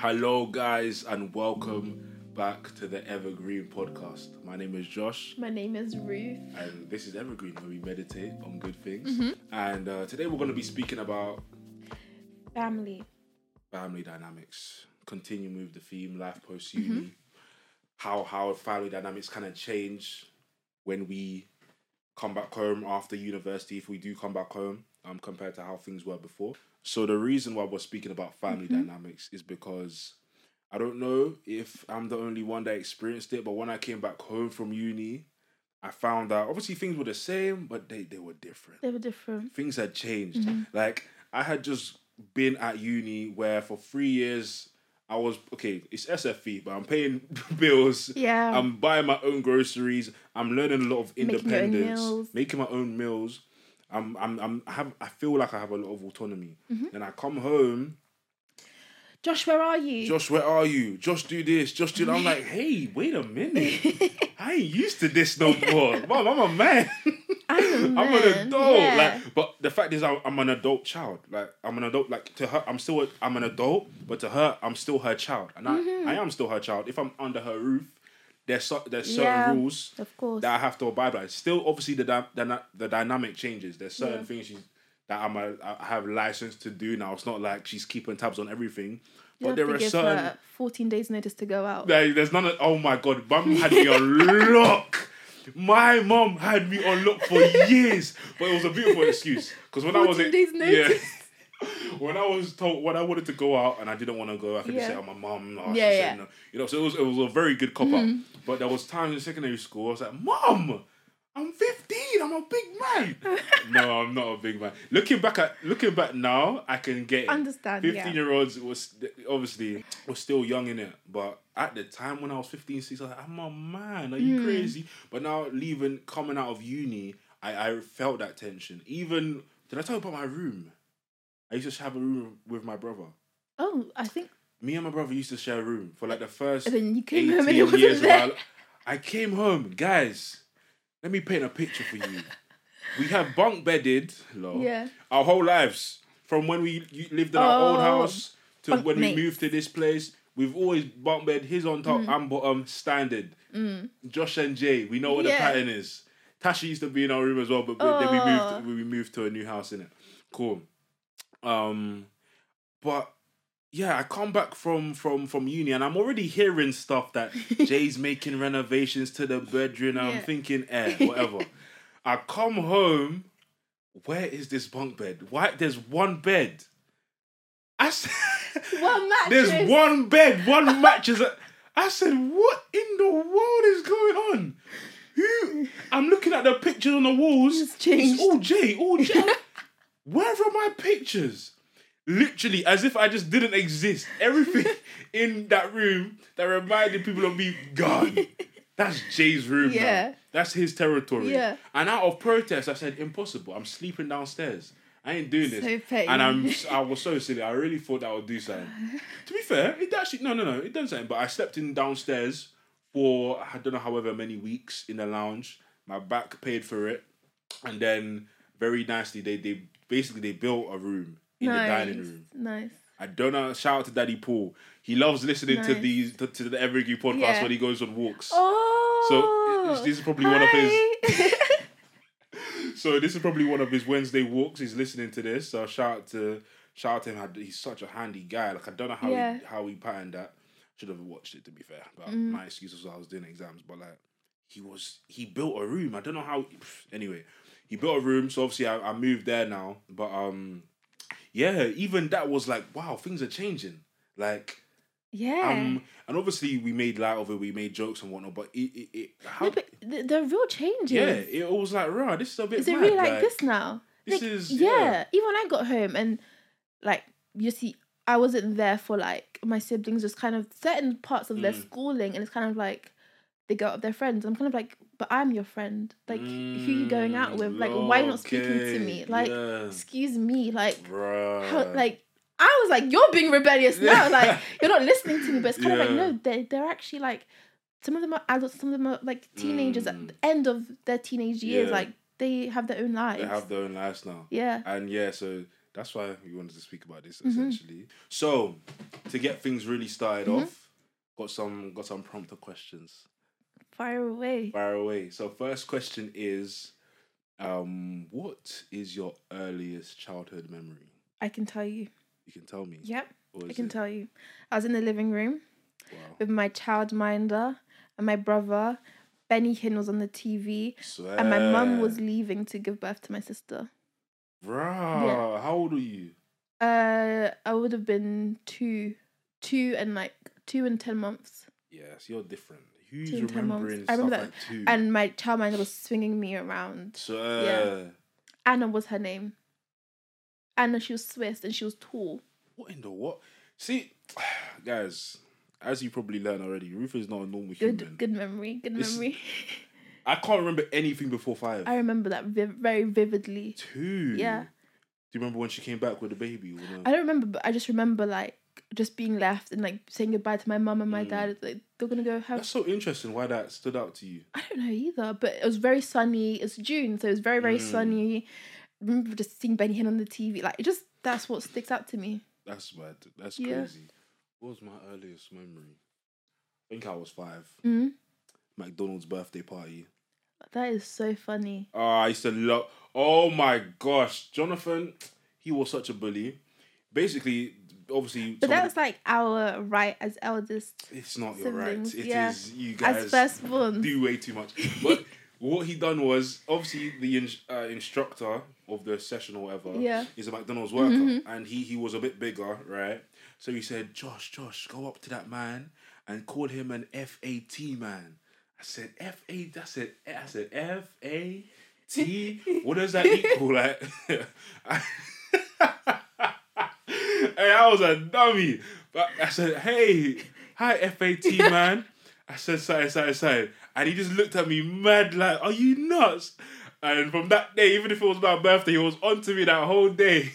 Hello, guys, and welcome back to the Evergreen podcast. My name is Josh. My name is Ruth. And this is Evergreen, where we meditate on good things. And today we're going to be speaking about family dynamics. Continue with the theme, life post-uni. How family dynamics kind of change when we come back home after university, if we do come back home, compared to how things were before. So the reason why we're speaking about family dynamics is because I don't know if I'm the only one that experienced it, but when I came back home from uni, I found that obviously things were the same, but they were different. They were different. Things had changed. Like, I had just been at uni where for 3 years, I was, okay, it's SFE, but I'm paying bills. Yeah. I'm buying my own groceries. I'm learning a lot of independence. Making my own meals. I feel like I have a lot of autonomy. Then I come home. Josh, where are you? Josh, where are you? Josh, do this. Josh, do that. I'm like, hey, wait a minute. I ain't used to this no more. Mom, I'm a man. I'm an adult. Yeah. Like, but the fact is, I'm an adult child. Like, I'm an adult. Like, to her, I'm an adult, but to her, I'm still her child, and I am still her child. If I'm under her roof, there's certain rules of course, that I have to abide by. Still, obviously, the dynamic changes. There's certain things that I have license to do now. It's not like she's keeping tabs on everything. You but there are certain her 14 days notice to go out. There's none of, oh my god, mum had me on lock. My mum had me on lock for years, but it was a beautiful excuse because when I was 14 days notice. When I was told when I wanted to go out and I didn't want to go, I could just say, "Oh, my mum." She said no. You know, so it was a very good cop up. But there was times in secondary school I was like, "Mum, I'm 15. I'm a big man." No, I'm not a big man. Looking back now, I can get it. Understand? 15-year-olds was still young in it, but at the time when I was 15, 16, I was like, I'm a man. Are you crazy? But now coming out of uni, I felt that tension. Even did I tell you about my room? I used to have a room with my brother. Oh, I think me and my brother used to share a room for like the first. And then you came 18 home and it wasn't years there. I came home, guys. Let me paint a picture for you. We have bunk bedded, our whole lives. From when we lived in our old house to when we moved to this place, we've always bunk bed. His on top and bottom, standard. Josh and Jay, we know what the pattern is. Tasha used to be in our room as well, but then we moved to a new house, innit? Cool. But yeah, I come back from uni and I'm already hearing stuff that Jay's making renovations to the bedroom. And I'm thinking, whatever. I come home, where is this bunk bed? Why? There's one bed. I said, one mattress. There's one bed, one mattress. I said, what in the world is going on? I'm looking at the pictures on the walls. It's changed. It's all Jay. Where are my pictures? Literally, as if I just didn't exist. Everything in that room that reminded people of me, gone. That's Jay's room now. That's his territory. Yeah. And out of protest, I said, impossible. I'm sleeping downstairs. I ain't doing this. So petty. And I was so silly. I really thought that would do something. To be fair, it actually, no, it done something. But I slept in downstairs for, I don't know, however many weeks in the lounge. My back paid for it. And then, very nicely, they built a room in the dining room. Nice. I don't know. Shout out to Daddy Paul. He loves listening to the Evergreen podcast when he goes on walks. Oh, so this is probably one of his. So this is probably one of his Wednesday walks. He's listening to this. So shout out to him. He's such a handy guy. Like, I don't know how he patterned that. Should have watched it, to be fair. But my excuse was I was doing exams. But like, he built a room. I don't know how. Anyway, he built a room. So obviously I moved there now. But even that was like, wow, things are changing. Like, and obviously we made light of it, we made jokes and whatnot, but the real changes. Yeah, it was like, rah, this is a bit Is it mad. really like this now? This like, is even when I got home and like, you see, I wasn't there for like my siblings, just kind of certain parts of their schooling, and it's kind of like they go out with their friends. I'm kind of like, but I'm your friend. Like, who are you going out with? Like, why are you not speaking to me? Like, excuse me. Like, how, like, I was like, you're being rebellious now. Like, you're not listening to me. But it's kind of like, no, they're actually like, some of them are adults, some of them are like teenagers at the end of their teenage years. Like, they have their own lives. They have their own lives now. Yeah. And so That's why we wanted to speak about this, essentially. So, to get things really started off, got some prompter questions. Fire away. So, first question is, what is your earliest childhood memory? I can tell you. You can tell me? Yep, I can tell you. I was in the living room with my childminder and my brother. Benny Hinn was on the TV. Swear. And my mum was leaving to give birth to my sister. Bruh, how old were you? I would have been 2 and 10 months. Yes, you're different. Who's 2 and 10 months. remembering I remember stuff that. like 2? And my childminder was swinging me around. Anna was her name. Anna, she was Swiss and she was tall. What in the what? See, guys, as you probably learned already, Ruth is not a normal human. Good memory. I can't remember anything before 5. I remember that very vividly. 2? Yeah. Do you remember when she came back with the baby? Or no? I don't remember, but I just remember like just being left and like saying goodbye to my mum and my dad. Like they're gonna go have. That's so interesting. Why that stood out to you? I don't know either, but it was very sunny. It's June, so it was very sunny. I remember just seeing Benny Hinn on the TV. Like that's what sticks out to me. That's mad. That's crazy. What was my earliest memory? I think I was 5. McDonald's birthday party. That is so funny. Oh, I used to love... Oh my gosh. Jonathan, he was such a bully. Basically, obviously... But that's like our right as eldest. It's not siblings. your right. It is you guys as firstborn. Do way too much. But what he done was, obviously, the instructor of the session or whatever is a McDonald's worker. And he was a bit bigger, right? So he said, Josh, go up to that man and call him an FAT man. I said, F-A-T? What does that equal? Like, hey, I was a dummy. But I said, hey, hi, FAT man. I said, sorry. And he just looked at me mad like, are you nuts? And from that day, even if it was my birthday, he was on to me that whole day.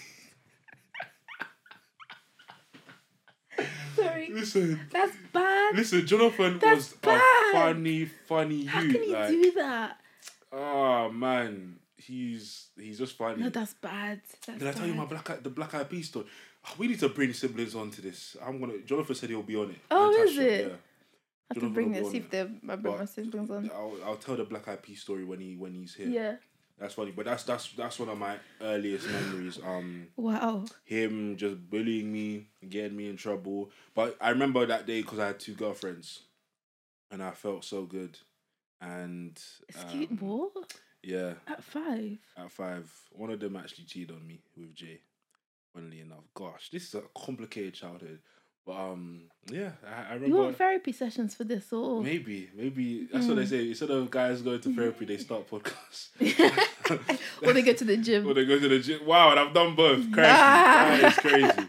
Sorry. Listen. That's bad. Listen, Jonathan was a funny youth. How can you do that? Oh man, he's just funny. No, that's bad. Did I tell you the Black Eyed Peas story? Oh, we need to bring siblings onto this. Jonathan said he'll be on it. Oh, is it? Yeah. I have to bring it. See if I bring my siblings on. I'll tell the Black Eyed Peas story when he's here. Yeah. That's funny, but that's one of my earliest memories. Wow. Him just bullying me, getting me in trouble. But I remember that day because I had 2 girlfriends, and I felt so good. And what? Yeah. At 5. At 5, one of them actually cheated on me with Jay. Funnily enough, gosh, this is a complicated childhood. But yeah, I remember. You want therapy sessions for this, or maybe that's what they say. Instead of guys going to therapy, they start podcasts. Or they go to the gym. Wow, and I've done both. Crazy, that is crazy.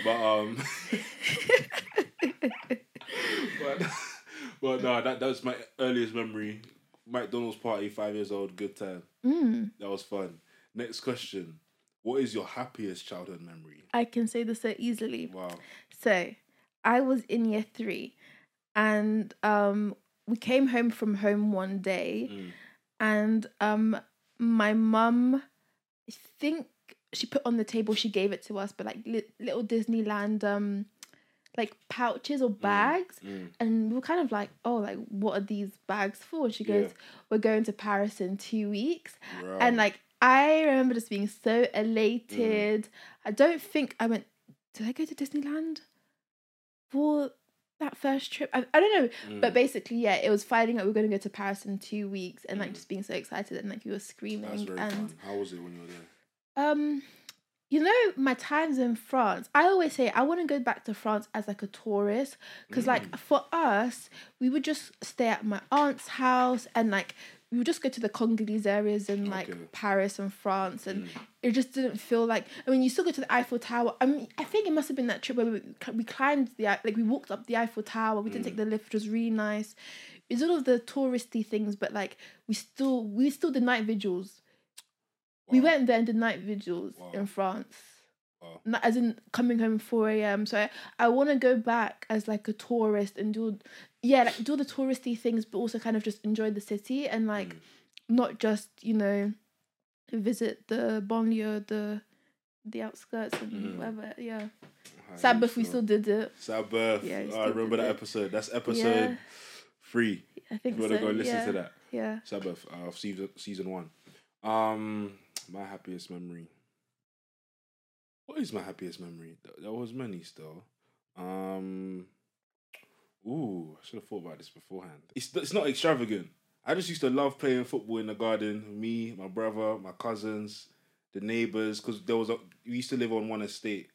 But no, that was my earliest memory. McDonald's party, 5 years old, good time. That was fun. Next question. What is your happiest childhood memory? I can say this so easily. Wow. So, I was in year 3 and we came home from home one day and my mum, I think she put on the table, she gave it to us, but like little Disneyland like pouches or bags and we were kind of like, oh, like what are these bags for? And she goes, we're going to Paris in 2 weeks. Right. And like I remember just being so elated. I don't think I went, did I go to Disneyland for that first trip? I don't know. But basically, yeah, it was finding out we were going to go to Paris in 2 weeks and like just being so excited and like we were screaming. That's very fun. How was it when you were there? You know, my times in France, I always say I want to go back to France as like a tourist because like for us, we would just stay at my aunt's house and like we would just go to the Congolese areas in like Paris and France and it just didn't feel like, I mean, you still go to the Eiffel Tower. I mean, I think it must have been that trip where we climbed we walked up the Eiffel Tower, we didn't take the lift, which was really nice. It's all of the touristy things, but like we still did night vigils. Wow. We went there and did night vigils in France. Wow. Not as in coming home 4 a.m. So I want to go back as like a tourist and do the touristy things, but also kind of just enjoy the city and like not just, you know, visit the banlieue, the the outskirts and whatever. Yeah. Sabbath, we still did it. Sabbath. Yeah, I remember that episode. That's episode 3. I think so. You want to go listen to that? Yeah. Sabbath of season 1. My happiest memory. What is my happiest memory? There was many still. I should have thought about this beforehand. It's not extravagant. I just used to love playing football in the garden. Me, my brother, my cousins, the neighbours, because we used to live on one estate.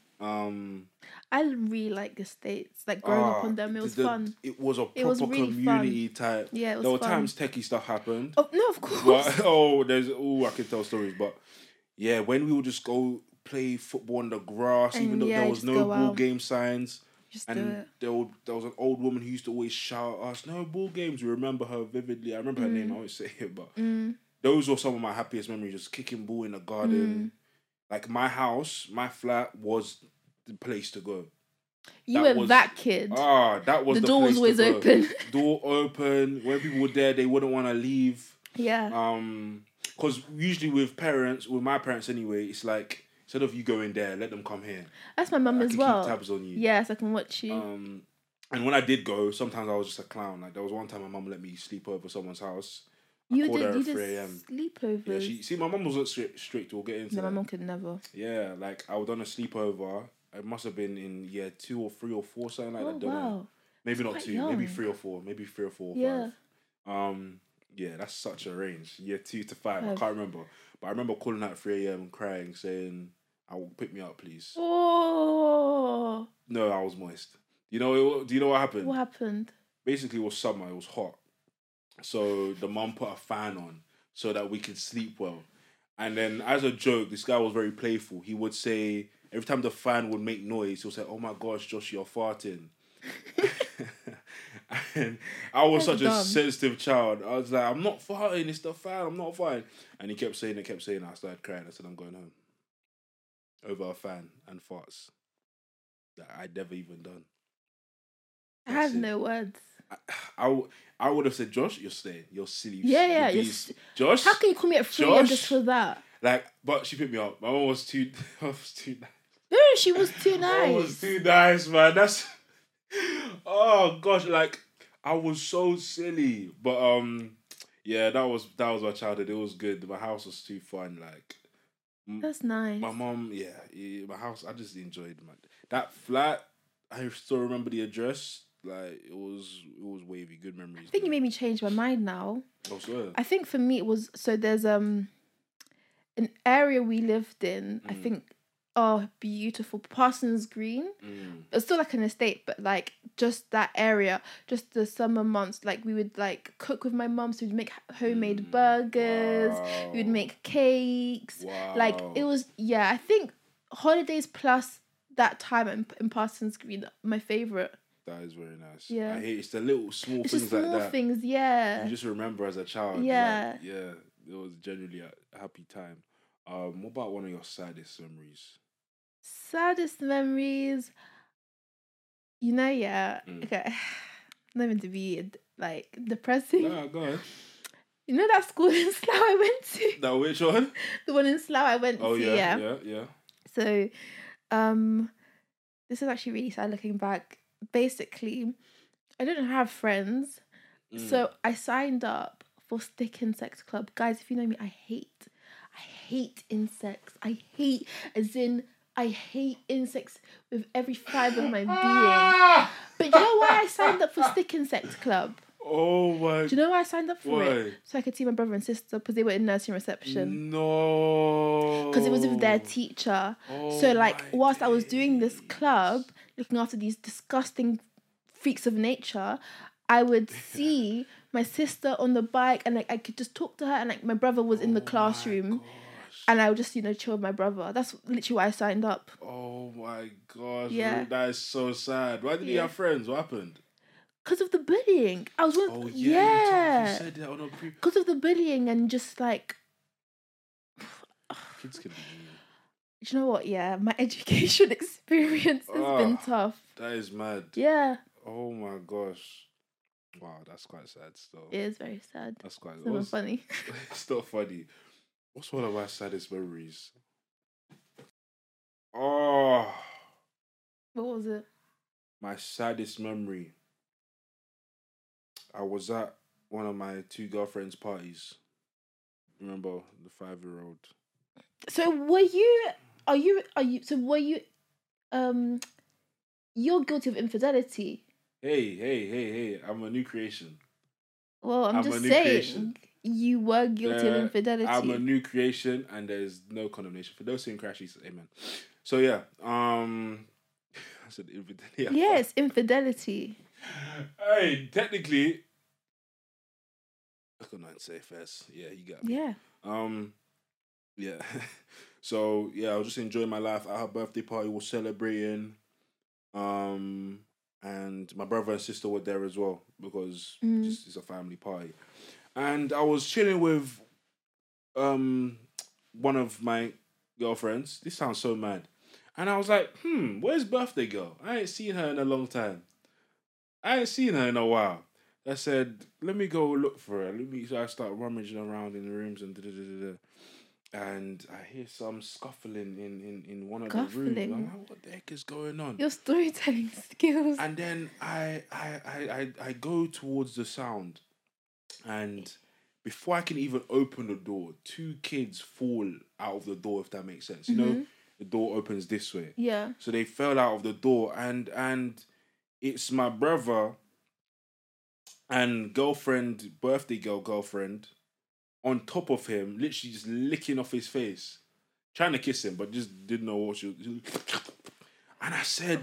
I really like the estates. Like growing up on them, it was fun. It was a proper really community type. Yeah, it was There were fun. times techie stuff happened. Oh no, of course. But, I could tell stories. But yeah, when we would just go play football on the grass, and even though there was no ball game signs. There was an old woman who used to always shout at us, "No ball games." We remember her vividly. I remember her name. I won't say it, but those were some of my happiest memories. Just kicking ball in the garden. Like my house, my flat was the place to go. You were that kid. That was the door was always open. Door open. When people were there, they wouldn't want to leave. Yeah. Because usually with my parents anyway, it's like, instead of you going there, let them come here. That's my mum as well. Keep tabs on you. Yes, I can watch you. And when I did go, sometimes I was just a clown. Like there was one time my mum let me sleep over someone's house. You did sleepovers. Yeah, my mum wasn't strict. We'll get into that. My mum could never. Yeah, like I was on a sleepover. It must have been in year 2 or 3 or 4, something like that. I don't know. Maybe not 2, maybe 3 or 4. Maybe 3 or 4 or 5. Yeah, that's such a range. Year 2 to 5. I can't remember. But I remember calling out at 3 a.m. and crying, saying, pick me up, please. Oh. No, I was moist. Do you know what happened? What happened? Basically, it was summer. It was hot. So the mum put a fan on so that we could sleep well. And then as a joke, this guy was very playful. He would say, every time the fan would make noise, he'll say, "Oh my gosh, Josh, you're farting." And I was such a sensitive child. I was like, "I'm not farting, it's the fan, I'm not farting." And he kept saying it. I started crying. I said, "I'm going home." Over a fan and farts that I'd never even done. I have no words. I would have said, "Josh, you're staying. You're silly." Yeah. Josh, how can you call me at 3 a.m. just for that? Like, but she picked me up. My mom was too nice. No, she was too nice. I was too nice, man. That's oh gosh, like I was so silly. But yeah, that was my childhood. It was good. My house was too fun. Like that's nice. My mom, my house. I just enjoyed that flat. I still remember the address. Like it was wavy. Good memories. I think you made me change my mind now. Oh, swear. I think for me it was there's an area we lived in. I think beautiful Parsons Green. It's still like an estate, but like just that area, just the summer months, like we would like cook with my mum. So we'd make homemade burgers. Wow. We would make cakes. Wow. Like it was I think holidays plus that time in Parsons Green, my favourite. That is very nice. Yeah. I hate it's the little small things like that. Small things, yeah. You just remember as a child. Yeah. Like, yeah. It was generally a happy time. What about one of your saddest memories? Saddest memories? Okay. Not even to be like depressing. No, go ahead. You know that school in Slough I went to? That which one? The one in Slough I went to. Oh yeah. So, this is actually really sad looking back. Basically, I didn't have friends, so I signed up for Stick Insect Club. Guys, if you know me, I hate insects. I hate insects with every fibre of my being. But you know why I signed up for Stick Insect Club? Oh my! Do you know why I signed up for it? So I could see my brother and sister because they were in nursing reception. No. Because it was with their teacher. Oh, so like whilst I was doing this club, looking after these disgusting freaks of nature, I would see my sister on the bike and like I could just talk to her, and like my brother was in the classroom. And I would just, chill with my brother. That's literally why I signed up. Oh my gosh. Yeah. That is so sad. Why didn't you have friends? What happened? Because of the bullying. I was one. Oh yeah. You said that on a because of the bullying and just like. Kids can be mean. Do you know what? Yeah, my education experience has been tough. That is mad. Yeah. Oh my gosh. Wow, that's quite sad still. It is very sad. That's quite. It's not funny. It's not funny. What's one of my saddest memories? Oh, What was it? my saddest memory. I was at one of my 2 girlfriends' parties. Remember the 5-year-old? So were you? Are you? So were you? Um, you're guilty of infidelity. Hey! I'm a new creation. Well, I'm a just new saying creation. you were guilty of infidelity. I'm a new creation, and there's no condemnation for those who in Christ Jesus. Amen. So yeah, I said infidelity. Yes, infidelity. Hey, technically, I couldn't say first. Yeah, you got me. Yeah. Yeah. So yeah, I was just enjoying my life. At her birthday party, was celebrating. And my brother and sister were there as well because just it's a family party. And I was chilling with one of my girlfriends. This sounds so mad. And I was like, where's birthday girl? I ain't seen her in a long time. I ain't seen her in a while. I said, let me go look for her. So I start rummaging around in the rooms and and I hear some scuffling in one of the rooms. I'm like, what the heck is going on? Your storytelling skills. And then I go towards the sound, and before I can even open the door, 2 kids fall out of the door, if that makes sense. You know, the door opens this way. Yeah. So they fell out of the door, and it's my brother and birthday girlfriend, on top of him, literally just licking off his face, trying to kiss him, but just didn't know what she was. And I said,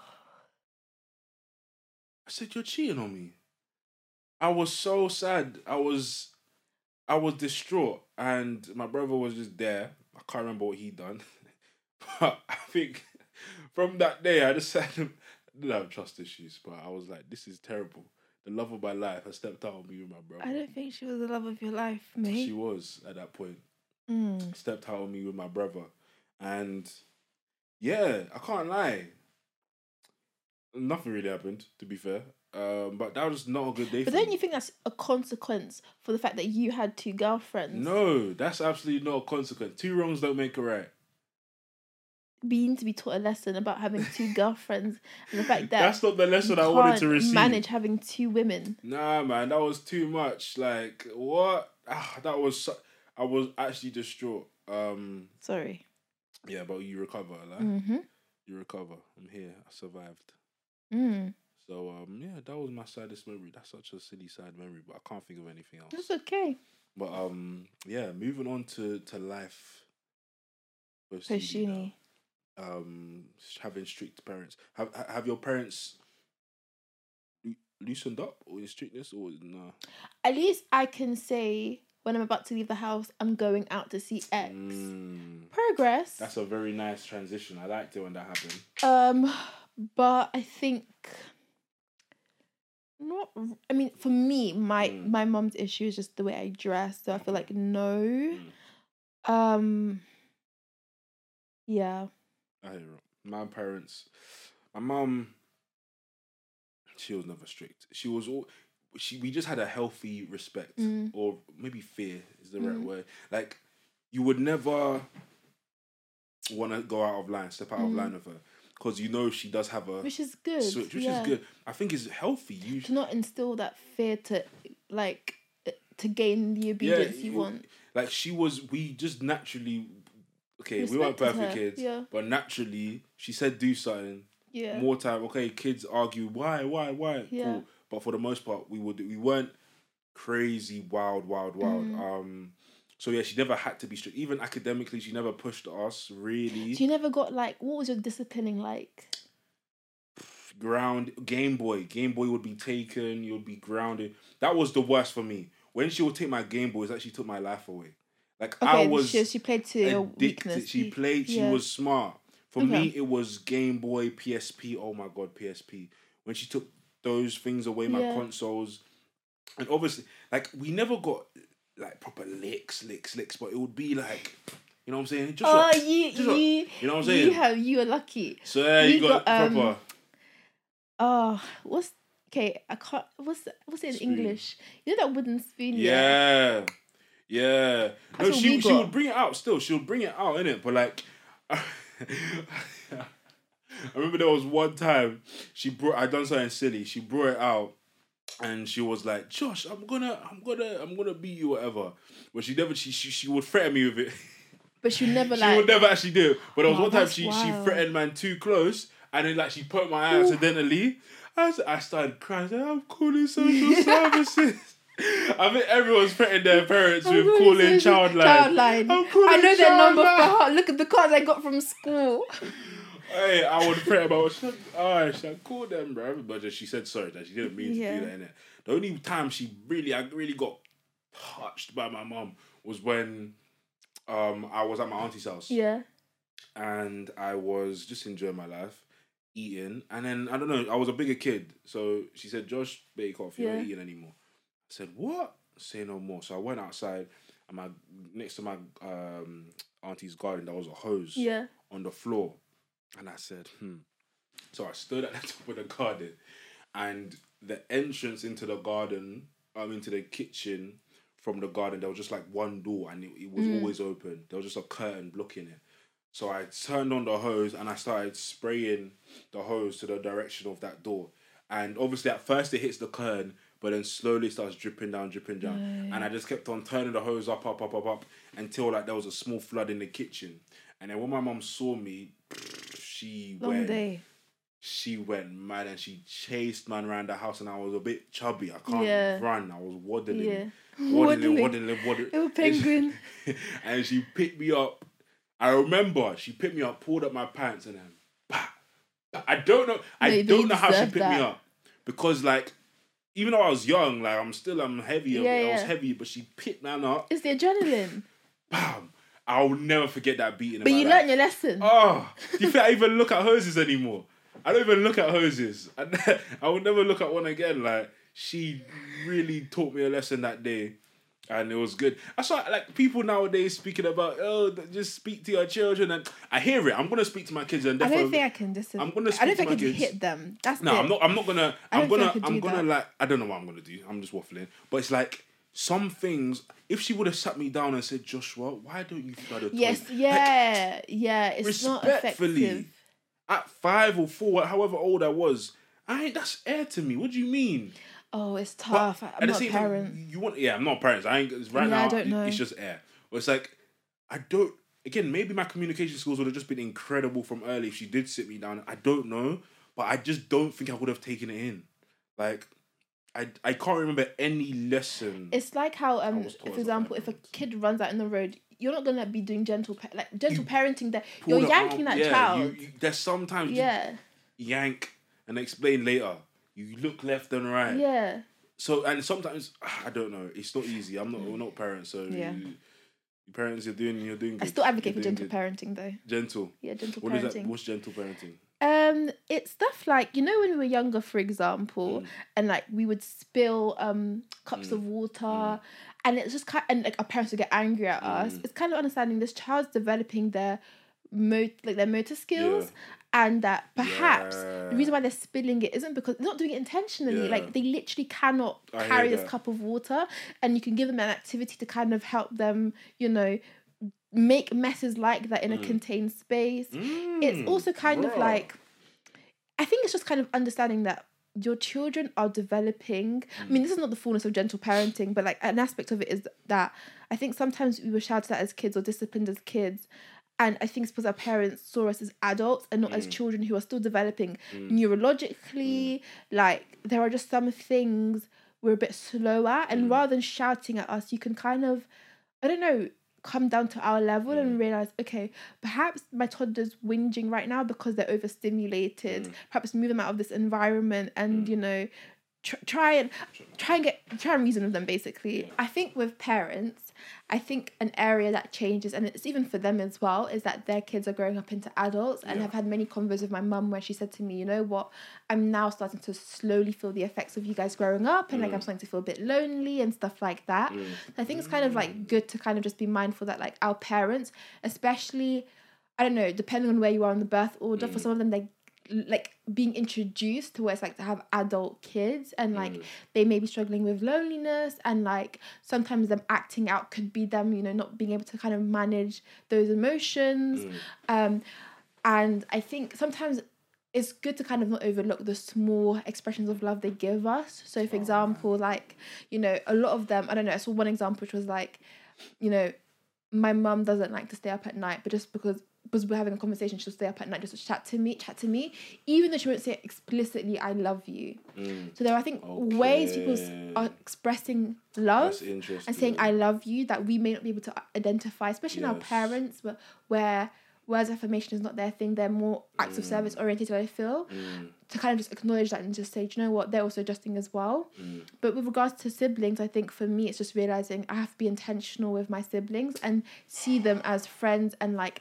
you're cheating on me. I was so sad. I was distraught, and my brother was just there. I can't remember what he'd done, but I think from that day, I didn't have trust issues. But I was like, this is terrible. The love of my life has stepped out on me with my brother. I don't think she was the love of your life, mate. She was at that point. Stepped out on me with my brother. And yeah, I can't lie. Nothing really happened, to be fair. But that was not a good day But don't you think that's a consequence for the fact that you had 2 girlfriends? No, that's absolutely not a consequence. 2 wrongs don't make a right. We need to be taught a lesson about having 2 girlfriends and the fact that that's not the lesson I wanted to receive. Manage having 2 women. Nah, man, that was too much. Like, what? I was actually distraught. Sorry. Yeah, but you recover, like. You recover. I'm here. I survived. So yeah, that was my saddest memory. That's such a silly sad memory, but I can't think of anything else. That's okay. But yeah, moving on to life post-uni. Having strict parents. Have your parents loosened up or in strictness or no? At least I can say when I'm about to leave the house, I'm going out to see X. Progress. That's a very nice transition. I liked it when that happened. But I think for me, my mum's issue is just the way I dress. So I feel like no. Yeah. I hear it. My mum, she was never strict. We just had a healthy respect, or maybe fear is the right word. Like, you would never want to go out of line, step out of line with her, because you know she does have a which is good. Switch, which is good. I think it's healthy. To not instill that fear to gain the obedience you want. Like we just naturally. Okay, we weren't perfect kids, but naturally, she said do something. Yeah. More time. Okay, kids argue why. Yeah. Cool. But for the most part, we weren't crazy, wild. So yeah, she never had to be strict. Even academically, she never pushed us really. She never got what was your disciplining like? Game Boy would be taken. You'd be grounded. That was the worst for me. When she would take my Game Boys, actually took my life away. Like, I was she played to your weakness. She was smart. For me, it was Game Boy, PSP. Oh my God, PSP. When she took those things away, my consoles. And obviously, like, we never got, like, proper licks, but it would be like, you know what I'm saying? You know what I'm saying? You were lucky. So yeah, you got proper. I can't, what's it in spoon. English? You know that wooden spoon? Yeah. No, she would bring it out still. She would bring it out, innit? But like, I remember there was one time I done something silly. She brought it out, and she was like, "Josh, I'm gonna beat you, whatever." But she would threaten me with it. But she never she would never actually do it. But there was one time she wild. threatened man too close, and then like she put my eye accidentally. I started crying. I'm calling social services. I think everyone's threatening their parents with calling Childline. I know their number for heart. Look at the cards I got from school. Hey, I would threaten about should I call them, bro? But she said sorry that she didn't mean to do that, innit? The only time I really got touched by my mum was when I was at my auntie's house. Yeah. And I was just enjoying my life, eating, and then I don't know, I was a bigger kid, so she said, "Josh, bake off, you're not eating anymore." I said, "What?" Say no more. So I went outside, and next to my auntie's garden, there was a hose on the floor, and I said, So I stood at the top of the garden, and the entrance into the garden, into the kitchen from the garden, there was just like one door, and it was always open. There was just a curtain blocking it. So I turned on the hose and I started spraying the hose to the direction of that door. And obviously at first it hits the curtain, but then slowly starts dripping down. And I just kept on turning the hose up until like there was a small flood in the kitchen. And then when my mum saw me, she went mad and she chased man around the house, and I was a bit chubby. I can't run. I was waddling. Little penguin. And she picked me up. I remember she picked me up, pulled up my pants, and then I don't know how she picked me up, because like even though I was young, like I'm heavy. I was heavy, but she picked me up. It's the adrenaline. Bam! I'll never forget that beating. But you learned your lesson. Oh, do you think I even look at hoses anymore? I don't even look at hoses. I will never look at one again. Like, she really taught me a lesson that day, and it was good. I saw like people nowadays speaking about, just speak to your children, and I hear it. I'm gonna speak to my kids, and I don't think I can listen. I'm gonna speak to my kids. I don't think I can hit them. That's no. I'm not gonna. I'm gonna like. I don't know what I'm gonna do. I'm just waffling. But it's like some things. If she would have sat me down and said, "Joshua, why don't you flood a toilet?" Yes, it's not effective. At 5 or 4, however old I was, that's air to me. What do you mean? Oh, it's tough. I'm not a parent. I'm not a parent. I don't know. It's just air. But it's like, again, maybe my communication skills would have just been incredible from early if she did sit me down. I don't know. But I just don't think I would have taken it in. Like, I can't remember any lesson. It's like how, for example, if a kid runs out in the road, you're not gonna be doing gentle parenting. That you're yanking that child. There's sometimes you yank and explain later. You look left and right. Yeah. So and sometimes I don't know. It's not easy. We're not parents, so your parents, you're doing good. I still advocate for gentle parenting though. Gentle. Yeah, gentle parenting. What is that? What's gentle parenting? It's stuff like, when we were younger, for example, and like we would spill cups of water, and it's just and like our parents would get angry at us. It's kind of understanding this child's developing their motor skills, and that perhaps the reason why they're spilling it isn't because they're not doing it intentionally. Like they literally cannot carry this cup of water, and you can give them an activity to kind of help them, make messes like that in a contained space. It's also kind of like, I think it's just kind of understanding that your children are developing. I mean, this is not the fullness of gentle parenting, but like an aspect of it is that I think sometimes we were shouted at as kids or disciplined as kids. And I think it's because our parents saw us as adults and not as children who are still developing neurologically. Like, there are just some things we're a bit slow at. And rather than shouting at us, you can kind of, come down to our level and realise, okay, perhaps my toddler's whinging right now because they're overstimulated. Perhaps move them out of this environment and, try and reason with them, basically. I think with parents, I think an area that changes, and it's even for them as well, is that their kids are growing up into adults. And I've had many convos with my mum where she said to me, you know what, I'm now starting to slowly feel the effects of you guys growing up, and like I'm starting to feel a bit lonely and stuff like that. I think it's kind of like good to kind of just be mindful that like our parents, especially, I don't know, depending on where you are in the birth order, for some of them they like being introduced to what it's like to have adult kids, and like they may be struggling with loneliness, and like sometimes them acting out could be them not being able to kind of manage those emotions. And I think sometimes it's good to kind of not overlook the small expressions of love they give us. So, for example, like, you know, a lot of them, I don't know, I saw one example which was like, you know, my mum doesn't like to stay up at night, but just because we're having a conversation, she'll stay up at night just to chat to me, even though she won't say explicitly, I love you. So there are, I think, ways people are expressing love and saying I love you that we may not be able to identify, especially in our parents, where words of affirmation is not their thing. They're more acts of service oriented, I feel, to kind of just acknowledge that and just say, do you know what, they're also adjusting as well. But with regards to siblings, I think for me it's just realising I have to be intentional with my siblings and see them as friends, and like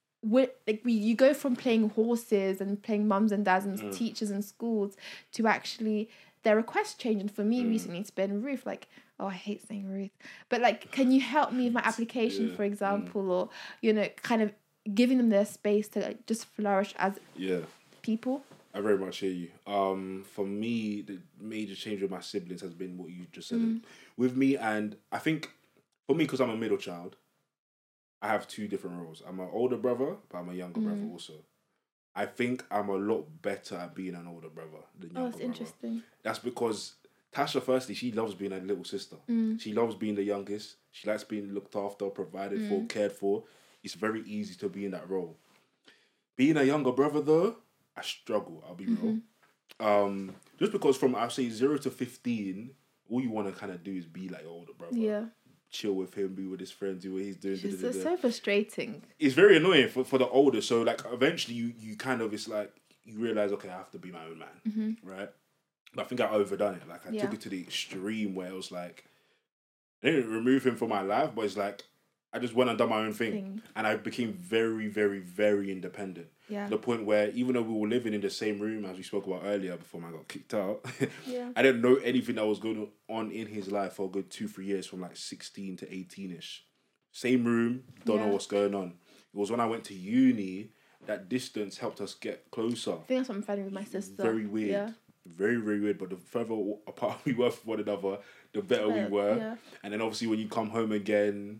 you go from playing horses and playing mums and dads and teachers and schools to actually their requests change. And for me recently it's been, Ruth, like, oh, I hate saying Ruth, but like, can you help me with my application, for example, or, you know, kind of giving them their space to like just flourish as people. I very much hear you. For me, the major change with my siblings has been what you just said. With me, and I think for me, because I'm a middle child, I have two different roles. I'm an older brother, but I'm a younger brother also. I think I'm a lot better at being an older brother than younger brother. Oh, that's interesting. That's because Tasha, firstly, she loves being a little sister. She loves being the youngest. She likes being looked after, provided for, cared for. It's very easy to be in that role. Being a younger brother, though, I struggle, I'll be real. Just because from, I'll say, 0 to 15, all you want to kind of do is be like your older brother. Yeah. Chill with him, be with his friends, do what he's doing. It's so frustrating. It's very annoying for the older. So, like, eventually you kind of, it's like, you realise, okay, I have to be my own man, right? But I think I overdone it. Like, I took it to the extreme where it was like, I didn't remove him from my life, but it's like, I just went and done my own thing. And I became very, very, very independent. Yeah. To the point where, even though we were living in the same room, as we spoke about earlier, before I got kicked out, I didn't know anything that was going on in his life for a good 2-3 years, from like 16 to 18-ish. Same room, don't know what's going on. It was when I went to uni that distance helped us get closer. I think that's what I'm finding with my sister. Very weird. Yeah. Very, very weird. But the further apart we were from one another, the better we were. Yeah. And then obviously when you come home again,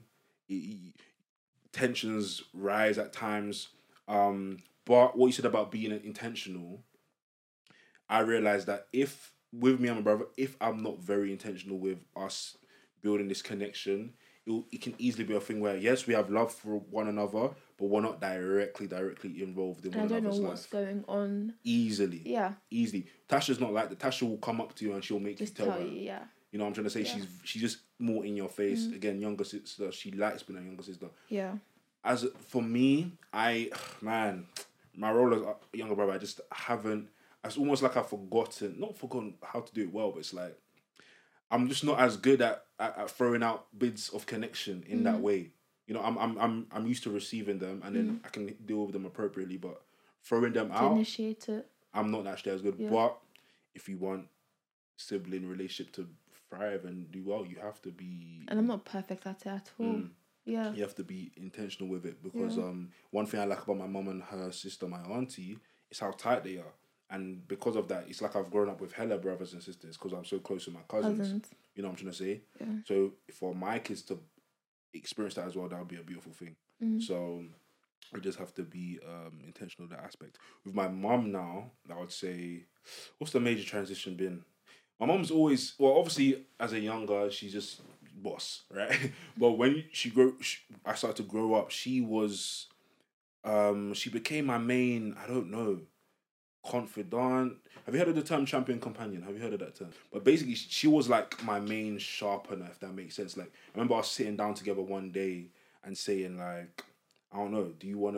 tensions rise at times. But what you said about being intentional, I realized that if, with me and my brother, if I'm not very intentional with us building this connection, it can easily be a thing where, yes, we have love for one another, but we're not directly involved in one another's life. I don't know what's going on. Easily. Tasha's not like that. Tasha will come up to you and she'll make just you tell her. You know what I'm trying to say? Yeah. She's just more in your face. Again, younger sister. She likes being a younger sister. Yeah. As for me, my role as a younger brother, I just haven't. It's almost like I've not forgotten how to do it well, but it's like I'm just not as good at throwing out bits of connection in that way. You know, I'm used to receiving them, and then I can deal with them appropriately. But throwing them out, initiate it, I'm not actually as good. Yeah. But if you want sibling relationship to thrive and do well, you have to be. And I'm not perfect at it at all. Yeah. You have to be intentional with it because one thing I like about my mum and her sister, my auntie, is how tight they are. And because of that, it's like I've grown up with hella brothers and sisters because I'm so close with my cousins. You know what I'm trying to say? Yeah. So for my kids to experience that as well, that would be a beautiful thing. So we just have to be intentional in that aspect. With my mum now, I would say, what's the major transition been? My mum's always, well, obviously as a younger, she's just boss, right? But when I started to grow up, she was, she became my main, I don't know, confidant. Have you heard of the term champion companion? Have you heard of that term? But basically, she was like my main sharpener, if that makes sense. Like, I remember us sitting down together one day and saying like, I don't know, do you want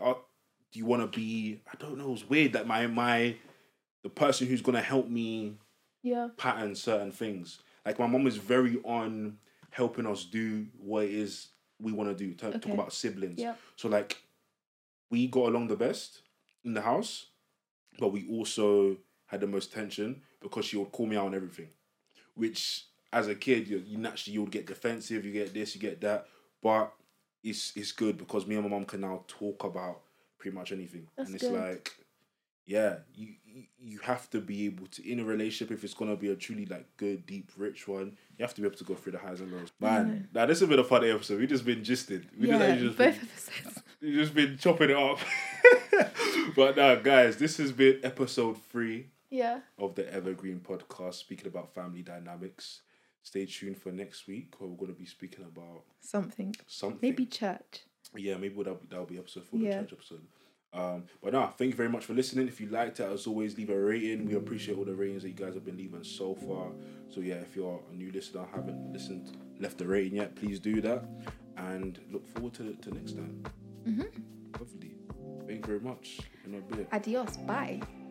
to be, I don't know, it was weird that the person who's going to help me pattern certain things. Like, my mom is very on helping us do what it is we want to do. Talk about siblings. Yep. So, like, we got along the best in the house, but we also had the most tension because she would call me out on everything. Which, as a kid, you naturally, you would get defensive, you get this, you get that. But it's good because me and my mom can now talk about pretty much anything. That's and it's good. Like, yeah, you have to be able to, in a relationship, if it's going to be a truly like good, deep, rich one, you have to be able to go through the highs and lows. Man, now this has been a funny episode. We've just been gisting. We've just been chopping it up. But now, guys, this has been episode 3 of the Evergreen Podcast, speaking about family dynamics. Stay tuned for next week, where we're going to be speaking about something. Maybe church. Yeah, maybe that'll be episode 4, the church episode. But no, thank you very much for listening. If you liked it, as always, leave a rating. We appreciate all the ratings that you guys have been leaving so far. So yeah, if you're a new listener, haven't left a rating yet, please do that. And look forward to next time. Lovely. Thank you very much. Adios. Bye.